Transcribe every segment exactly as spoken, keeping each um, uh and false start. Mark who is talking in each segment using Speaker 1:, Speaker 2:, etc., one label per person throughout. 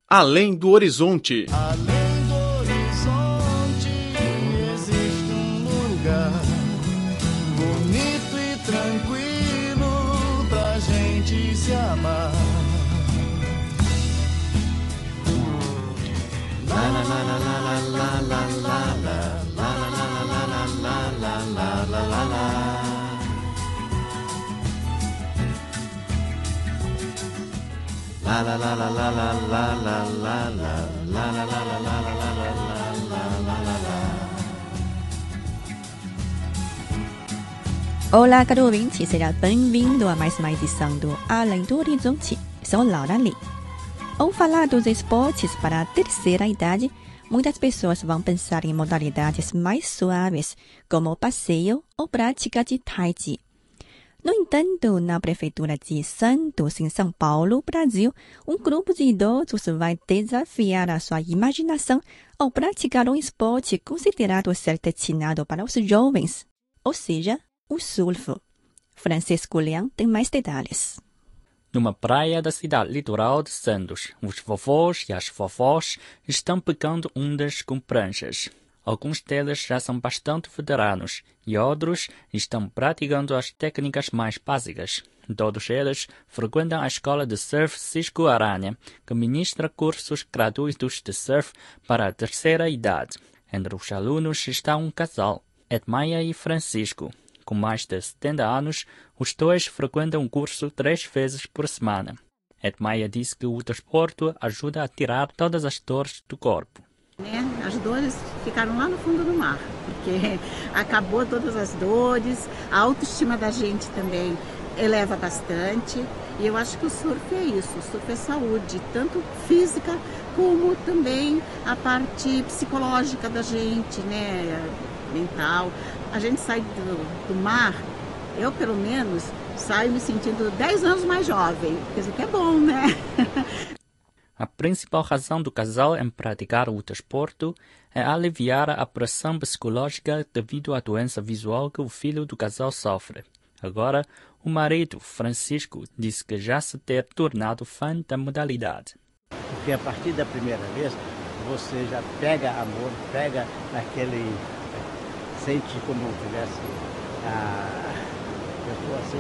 Speaker 1: Além do horizonte.
Speaker 2: Além do horizonte existe um lugar bonito e tranquilo pra gente se amar. La la la la la la la la la la la la la la la la. La la la la la la la la la la la la la la la la la la la.
Speaker 3: Olá, caro ouvinte, seja bem-vindo a mais uma edição do Além do Horizonte. Sou Laura Lee. Ao falar dos esportes para a terceira idade, muitas pessoas vão pensar em modalidades mais suaves, como passeio ou prática de tai chi. No entanto, na Prefeitura de Santos, em São Paulo, Brasil, um grupo de idosos vai desafiar a sua imaginação ao praticar um esporte considerado ser destinado para os jovens, ou seja, o surf. Francisco Leão tem mais detalhes.
Speaker 4: Numa praia da cidade litoral de Santos, os vovós e as vovós estão pegando ondas com pranchas. Alguns deles já são bastante veteranos e outros estão praticando as técnicas mais básicas. Todos eles frequentam a escola de surf Cisco Aranha, que ministra cursos gratuitos de surf para a terceira idade. Entre os alunos está um casal, Edmaia e Francisco. Com mais de setenta anos, os dois frequentam o curso três vezes por semana. Edmaia disse que o desporto ajuda a tirar todas as dores do corpo.
Speaker 5: As dores ficaram lá no fundo do mar, porque acabou todas as dores, a autoestima da gente também eleva bastante. E eu acho que o surf é isso, o surf é saúde, tanto física como também a parte psicológica da gente, né, mental. A gente sai do, do mar, eu pelo menos saio me sentindo dez anos mais jovem, quer dizer que é bom, né?
Speaker 4: A principal razão do casal em praticar o desporto é aliviar a pressão psicológica devido à doença visual que o filho do casal sofre. Agora, o marido, Francisco, disse que já se ter tornado fã da modalidade.
Speaker 6: Porque a partir da primeira vez, você já pega amor, pega aquele... sente como tivesse... a pessoa assim,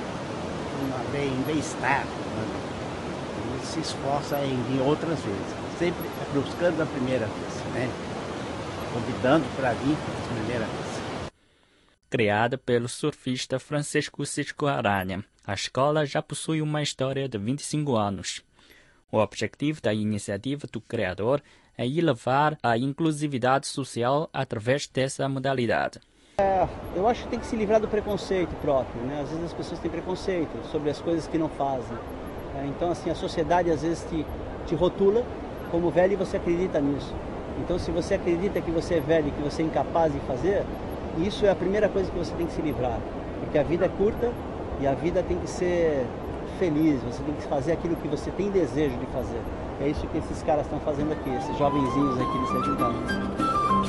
Speaker 6: uma bem, bem-estar, né? E se esforça em, em outras vezes, sempre buscando a primeira vez, né? Convidando para vir a primeira vez.
Speaker 4: Criada pelo surfista Francisco Cisco Aranha, a escola já possui uma história de vinte e cinco anos. O objetivo da iniciativa do criador é elevar a inclusividade social através dessa modalidade.
Speaker 7: É, eu acho que tem que se livrar do preconceito próprio, né? Às vezes as pessoas têm preconceito sobre as coisas que não fazem. Então, assim, a sociedade às vezes te, te rotula como velho e você acredita nisso. Então, se você acredita que você é velho e que você é incapaz de fazer, isso é a primeira coisa que você tem que se livrar. Porque a vida é curta e a vida tem que ser feliz, você tem que fazer aquilo que você tem desejo de fazer. É isso que esses caras estão fazendo aqui, esses jovenzinhos aqui de Sergipano.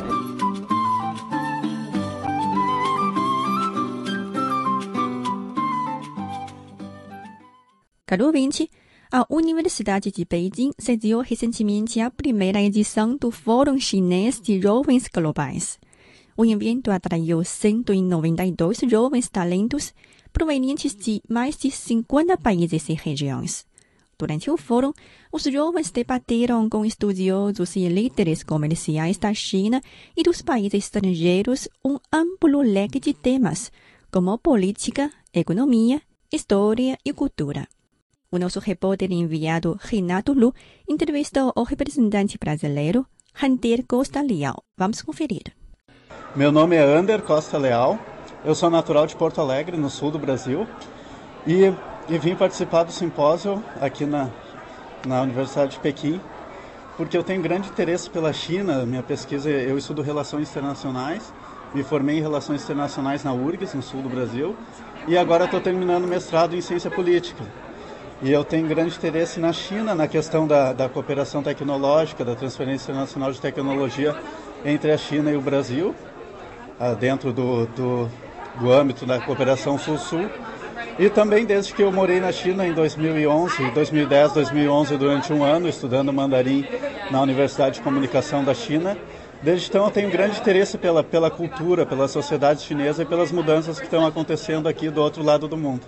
Speaker 3: Caro ouvinte, a Universidade de Beijing sediou recentemente a primeira edição do Fórum Chinês de Jovens Globais. O evento atraiu cento e noventa e dois jovens talentos provenientes de mais de cinquenta países e regiões. Durante o fórum, os jovens debateram com estudiosos e líderes comerciais da China e dos países estrangeiros um amplo leque de temas, como política, economia, história e cultura. O nosso repórter enviado Renato Lu entrevistou o representante brasileiro, Ander Costa Leal. Vamos conferir.
Speaker 8: Meu nome é Ander Costa Leal, eu sou natural de Porto Alegre, no sul do Brasil, e, e vim participar do simpósio aqui na, na Universidade de Pequim, porque eu tenho grande interesse pela China. Minha pesquisa, eu estudo relações internacionais, me formei em relações internacionais na U R G S, no sul do Brasil, e agora estou terminando mestrado em ciência política. E eu tenho grande interesse na China, na questão da, da cooperação tecnológica, da transferência internacional de tecnologia entre a China e o Brasil, dentro do, do, do âmbito da cooperação Sul-Sul. E também desde que eu morei na China em dois mil e onze, dois mil e dez, dois mil e onze, durante um ano, estudando mandarim na Universidade de Comunicação da China. Desde então eu tenho grande interesse pela, pela cultura, pela sociedade chinesa e pelas mudanças que estão acontecendo aqui do outro lado do mundo.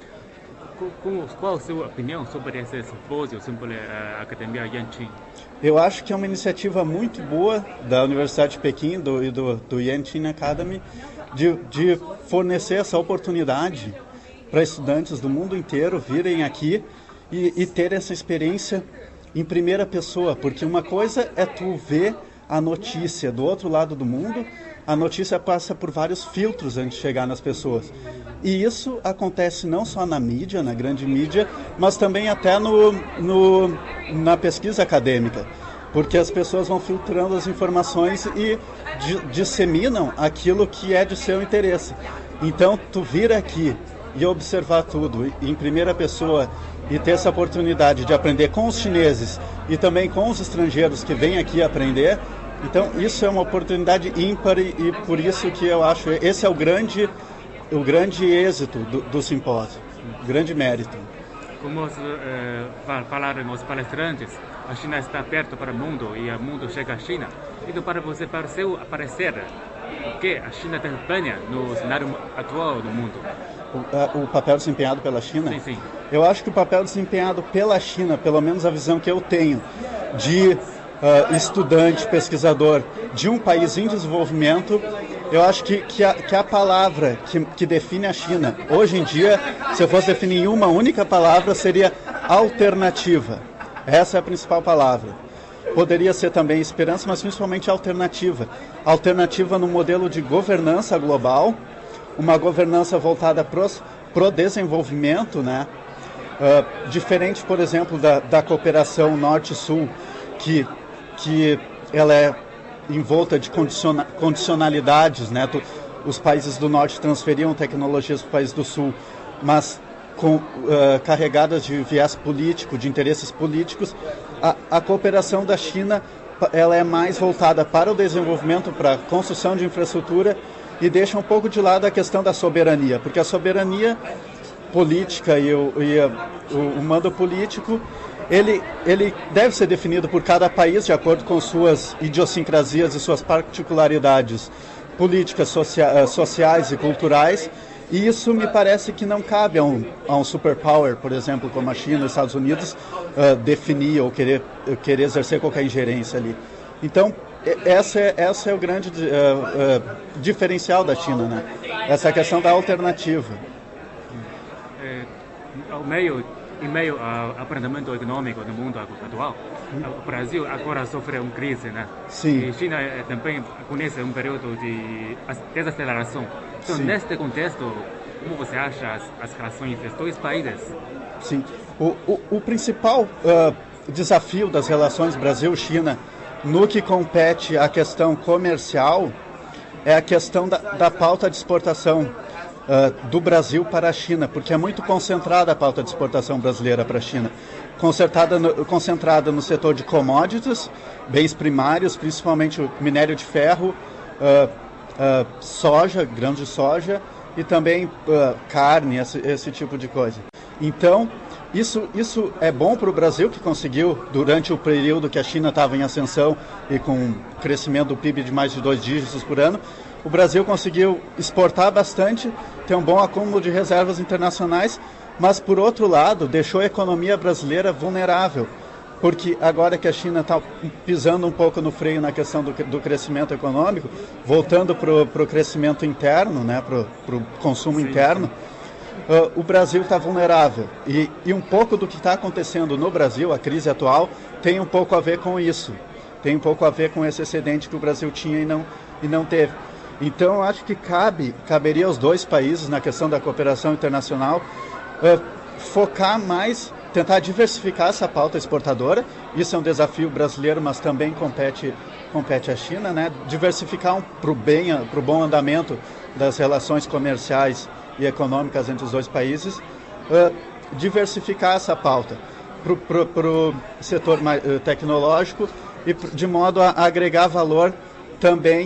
Speaker 9: Qual a sua opinião sobre esse simpósio, sobre a Academia Yanqing?
Speaker 8: Eu acho que é uma iniciativa muito boa da Universidade de Pequim do, e do, do Yanqing Academy de, de fornecer essa oportunidade para estudantes do mundo inteiro virem aqui e, e ter essa experiência em primeira pessoa, porque uma coisa é tu ver a notícia do outro lado do mundo, a notícia passa por vários filtros antes de chegar nas pessoas. E isso acontece não só na mídia, na grande mídia, mas também até no, no, na pesquisa acadêmica, porque as pessoas vão filtrando as informações e di, disseminam aquilo que é de seu interesse. Então, tu vir aqui e observar tudo em primeira pessoa e ter essa oportunidade de aprender com os chineses e também com os estrangeiros que vêm aqui aprender, então isso é uma oportunidade ímpar e, e por isso que eu acho esse é o grande, o grande êxito do, do simpósio, o grande mérito.
Speaker 9: Como eh, falaram os palestrantes, a China está perto para o mundo e o mundo chega à China. Então, para você, para o seu aparecer, o que a China desempenha no cenário atual do mundo?
Speaker 8: O, o papel desempenhado pela China?
Speaker 9: Sim, sim.
Speaker 8: Eu acho que o papel desempenhado pela China, pelo menos a visão que eu tenho de uh, estudante, pesquisador de um país em desenvolvimento, eu acho que, que, a, que a palavra que, que define a China, hoje em dia, se eu fosse definir em uma única palavra, seria alternativa. Essa é a principal palavra. Poderia ser também esperança, mas principalmente alternativa. Alternativa no modelo de governança global, uma governança voltada para o desenvolvimento, né? Uh, diferente, por exemplo, da, da cooperação Norte-Sul, que, que ela é envolta de condiciona, condicionalidades, né? Tu, os países do Norte transferiam tecnologias para os países do Sul, mas com, uh, carregadas de viés político, de interesses políticos. A, a cooperação da China ela é mais voltada para o desenvolvimento, para a construção de infraestrutura e deixa um pouco de lado a questão da soberania, porque a soberania política e o, e a, o, o mando político, ele, ele deve ser definido por cada país de acordo com suas idiosincrasias e suas particularidades políticas, socia, sociais e culturais, e isso me parece que não cabe a um, a um superpower, por exemplo, como a China e os Estados Unidos, uh, definir ou querer, querer exercer qualquer ingerência ali. Então, essa é, essa é o grande uh, uh, diferencial da China, né? Essa é a questão da alternativa.
Speaker 9: É, ao meio, em meio ao aprendimento econômico no mundo atual, o Brasil agora sofre uma crise, né?
Speaker 8: Sim.
Speaker 9: E a China também conhece um período de desaceleração. Então, sim, neste contexto, como você acha as, as relações dos dois países?
Speaker 8: Sim. O, o, o principal uh, desafio das relações Brasil-China no que compete à questão comercial é a questão da, da pauta de exportação uh, do Brasil para a China, porque é muito concentrada a pauta de exportação brasileira para a China. Concentrada no, concentrada no setor de commodities, bens primários, principalmente o minério de ferro, uh, uh, soja, grãos de soja e também uh, carne, esse, esse tipo de coisa. Então, isso, isso é bom para o Brasil, que conseguiu, durante o período que a China estava em ascensão e com crescimento do P I B de mais de dois dígitos por ano, o Brasil conseguiu exportar bastante, ter um bom acúmulo de reservas internacionais, mas, por outro lado, deixou a economia brasileira vulnerável, porque agora que a China está pisando um pouco no freio na questão do, do crescimento econômico, voltando para o crescimento interno, né, para o consumo sim, interno, sim. Uh, o Brasil está vulnerável. E, e um pouco do que está acontecendo no Brasil, a crise atual, tem um pouco a ver com isso. Tem um pouco a ver com esse excedente que o Brasil tinha e não, e não teve. Então, eu acho que cabe, caberia aos dois países, na questão da cooperação internacional, uh, focar mais, tentar diversificar essa pauta exportadora. Isso é um desafio brasileiro, mas também compete, compete à China, né? Diversificar para o bem, para o bom andamento das relações comerciais e econômicas entre os dois países, uh, diversificar essa pauta para o setor mais, uh, tecnológico e de modo a, a agregar valor também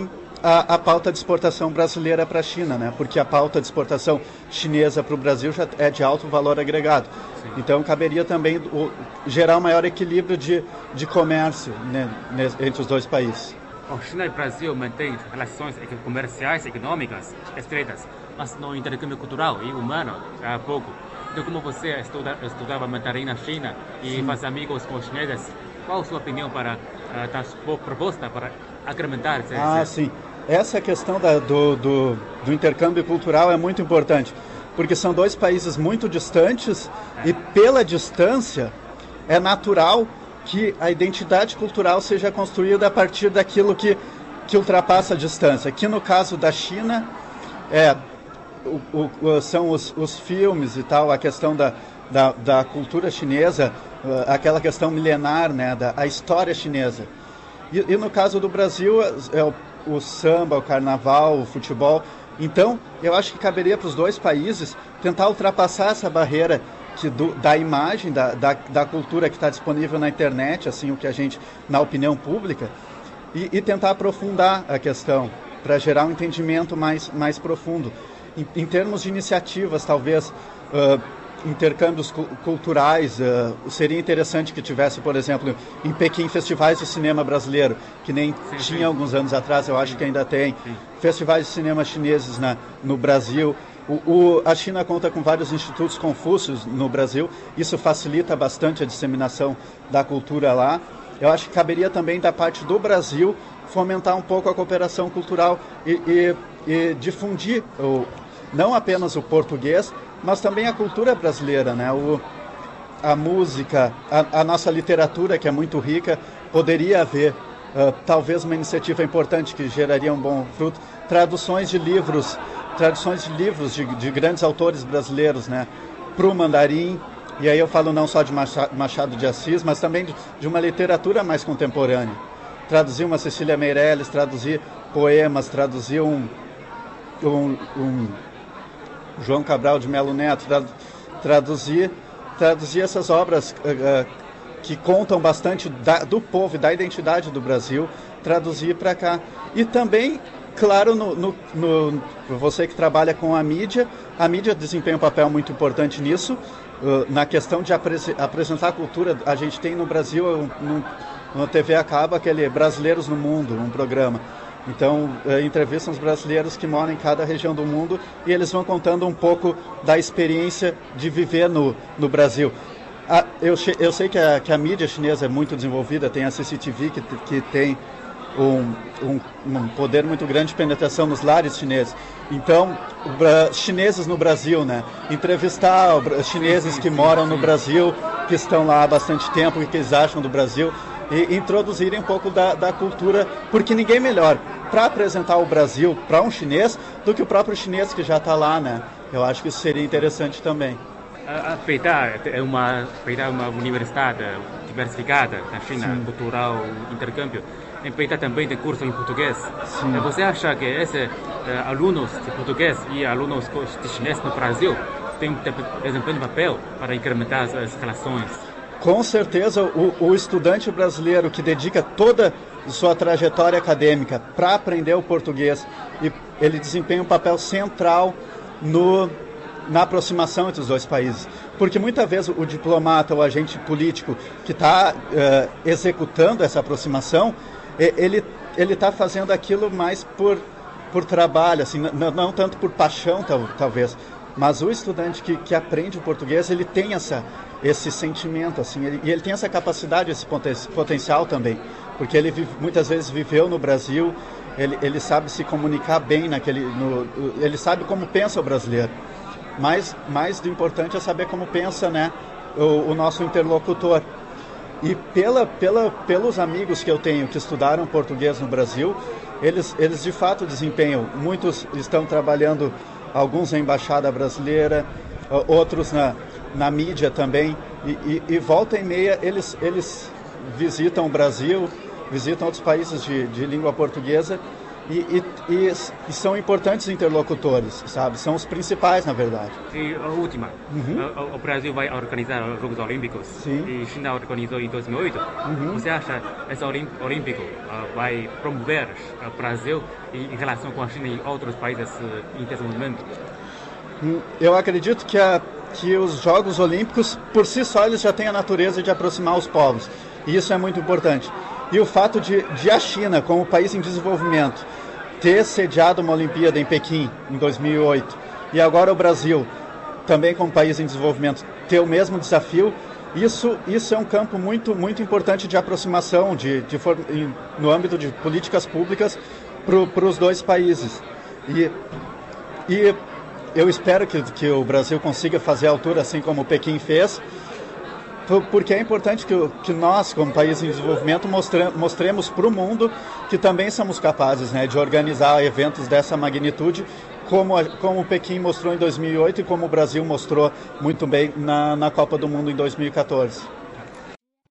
Speaker 8: a, a pauta de exportação brasileira para a China, né? Porque a pauta de exportação chinesa para o Brasil já é de alto valor agregado. Sim. Então, caberia também o, gerar um maior equilíbrio de, de comércio, né, entre os dois países.
Speaker 9: A China e o Brasil mantêm relações comerciais e econômicas estreitas, mas no intercâmbio cultural e humano há pouco. Então, como você estuda, estudava mandarim na China e Sim. faz amigos com os chineses, qual a sua opinião para uh, dar sua proposta para incrementar esse...
Speaker 8: Ah, sim. Essa questão da, do, do, do intercâmbio cultural é muito importante, porque são dois países muito distantes é. e pela distância é natural que a identidade cultural seja construída a partir daquilo que, que ultrapassa a distância. Aqui no caso da China, é, o, o, são os, os filmes e tal, a questão da, da, da cultura chinesa, aquela questão milenar, né, da a história chinesa. E, e no caso do Brasil, é o, o samba, o carnaval, o futebol. Então, eu acho que caberia para os dois países tentar ultrapassar essa barreira que do, da imagem, da, da, da cultura que está disponível na internet, assim, o que a gente, na opinião pública, e, e tentar aprofundar a questão, para gerar um entendimento mais, mais profundo. Em, em termos de iniciativas, talvez... Uh, intercâmbios cu culturais, uh, seria interessante que tivesse, por exemplo, em Pequim, festivais de cinema brasileiro, que nem sim, tinha sim. alguns anos atrás, eu acho sim. que ainda tem, sim. festivais de cinema chineses na, no Brasil. O, o, a China conta com vários institutos Confúcios no Brasil, isso facilita bastante a disseminação da cultura lá. Eu acho que caberia também da parte do Brasil fomentar um pouco a cooperação cultural e, e, e difundir o, não apenas o português, mas também a cultura brasileira, né? O, a música, a, a nossa literatura, que é muito rica, poderia haver uh, talvez uma iniciativa importante que geraria um bom fruto, traduções de livros, traduções de livros de, de grandes autores brasileiros, né? Para o mandarim, e aí eu falo não só de Machado de Assis, mas também de, de uma literatura mais contemporânea. Traduzir uma Cecília Meirelles, traduzir poemas, traduzir um... um, um João Cabral de Melo Neto, traduzir, traduzir essas obras uh, uh, que contam bastante da, do povo e da identidade do Brasil, traduzir para cá. E também, claro, no, no, no, você que trabalha com a mídia, a mídia desempenha um papel muito importante nisso, uh, na questão de apres, apresentar a cultura. A gente tem no Brasil, no, no T V a cabo, aquele Brasileiros no Mundo, um programa. Então, eh, entrevistam os brasileiros que moram em cada região do mundo e eles vão contando um pouco da experiência de viver no, no Brasil. Ah, eu, eu sei que a, que a mídia chinesa é muito desenvolvida, tem a C C T V que, que tem um, um, um poder muito grande de penetração nos lares chineses. Então, uh, chineses no Brasil, né? Entrevistar chineses que moram no Brasil, que estão lá há bastante tempo, o que eles acham do Brasil, e introduzirem um pouco da, da cultura, porque ninguém melhor para apresentar o Brasil para um chinês do que o próprio chinês que já está lá, né? Eu acho que isso seria interessante também.
Speaker 9: A Peitá é uma, Peitá é uma universidade diversificada na China, Sim. cultural, intercâmbio. Em Peitá também tem curso em português. Sim. Você acha que esses uh, alunos de português e alunos de chinês no Brasil têm desempenho papel para incrementar as, as relações?
Speaker 8: Com certeza, o, o estudante brasileiro que dedica toda sua trajetória acadêmica para aprender o português, e ele desempenha um papel central no, na aproximação entre os dois países. Porque muitas vezes o diplomata ou agente político que está uh, executando essa aproximação, ele ele está fazendo aquilo mais por, por trabalho, assim, não, não tanto por paixão, tal, talvez. Mas o estudante que, que aprende o português, ele tem essa, esse sentimento, assim, ele, e ele tem essa capacidade, esse poten, potencial também, porque ele vive, muitas vezes viveu no Brasil, ele, ele sabe se comunicar bem naquele, no, ele sabe como pensa o brasileiro. Mas mais do importante é saber como pensa, né, o, o nosso interlocutor. E pela, pela, pelos amigos que eu tenho que estudaram português no Brasil, eles, eles de fato desempenham, muitos estão trabalhando, alguns na Embaixada Brasileira, outros na, na mídia também, e, e, e volta e meia eles, eles visitam o Brasil, visitam outros países de, de língua portuguesa, e, e, e, e são importantes interlocutores, sabe? São os principais, na verdade.
Speaker 9: E a última,
Speaker 8: Uhum.
Speaker 9: o, o Brasil vai organizar os Jogos Olímpicos.
Speaker 8: Sim.
Speaker 9: E a China organizou em dois mil e oito.
Speaker 8: Uhum.
Speaker 9: Você acha que esse Olim- Olímpico uh, vai promover o Brasil em, em relação com a China e outros países uh, em desenvolvimento?
Speaker 8: Eu acredito que, a, que os Jogos Olímpicos, por si só, eles já têm a natureza de aproximar os povos. E isso é muito importante. E o fato de, de a China, como país em desenvolvimento, ter sediado uma Olimpíada em Pequim, em dois mil e oito, e agora o Brasil, também como país em desenvolvimento, ter o mesmo desafio, isso, isso é um campo muito, muito importante de aproximação de, de, em, no âmbito de políticas públicas para os dois países. E, e eu espero que, que o Brasil consiga fazer a altura assim como Pequim fez, porque é importante que, que nós, como país em desenvolvimento, mostre, mostremos para o mundo que também somos capazes, né, de organizar eventos dessa magnitude, como, a, como o Pequim mostrou em dois mil e oito e como o Brasil mostrou muito bem na, na Copa do Mundo em dois mil e quatorze.